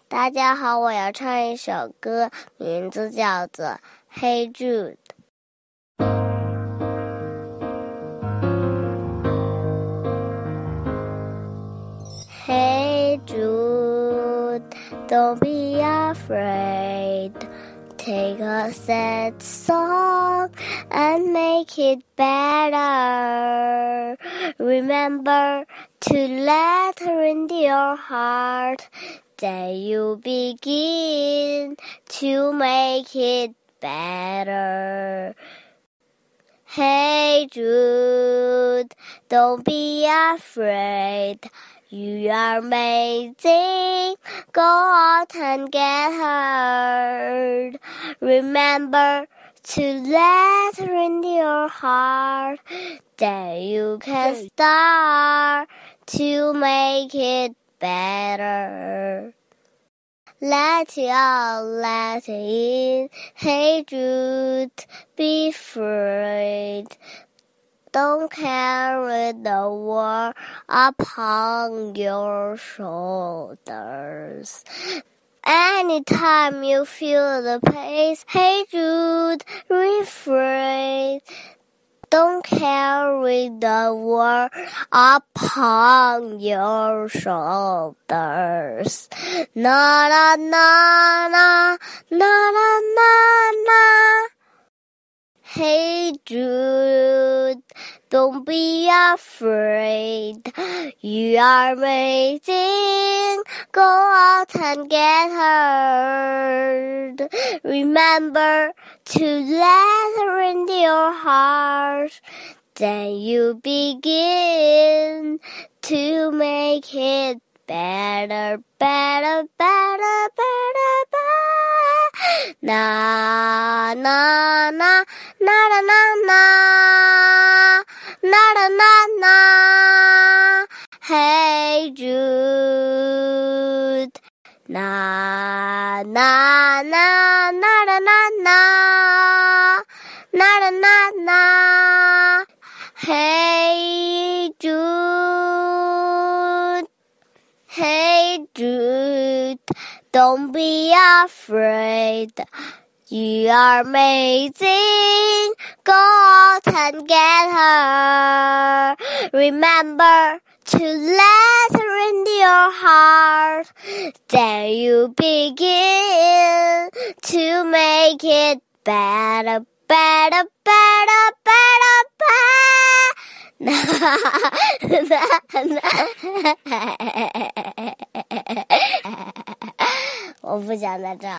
大家好，我要唱一首歌，名字叫做《Hey Jude》。Hey Jude, don't be afraid. Take a sad song and make it better. Remember to let her into your heart. Then you begin to make it better. Hey Jude, don't be afraid. You are amazing. Go out and get her. Remember to let her into your heart. Then you can start to make it better. Let it out, let it in. Hey Jude, be free. Don't carry the world upon your shoulders. Anytime you feel the pain, hey Jude, refrain. Don't carry the world upon your shoulders. Na na na na na na na na. Hey Jude, don't be afraid. You are amazing. Go out and get her. Remember to let her into your heart. Then you begin to make it better, better, better, better, better. Na na na na na na na na na na. Hey Jude. Na na na na na na na na na na. Hey Jude. Hey Jude, don't be afraid. You are amazing. Go out and get her. Remember to let her into your heart. Then you begin to make it better, better, better, better, better. 我不想在这儿。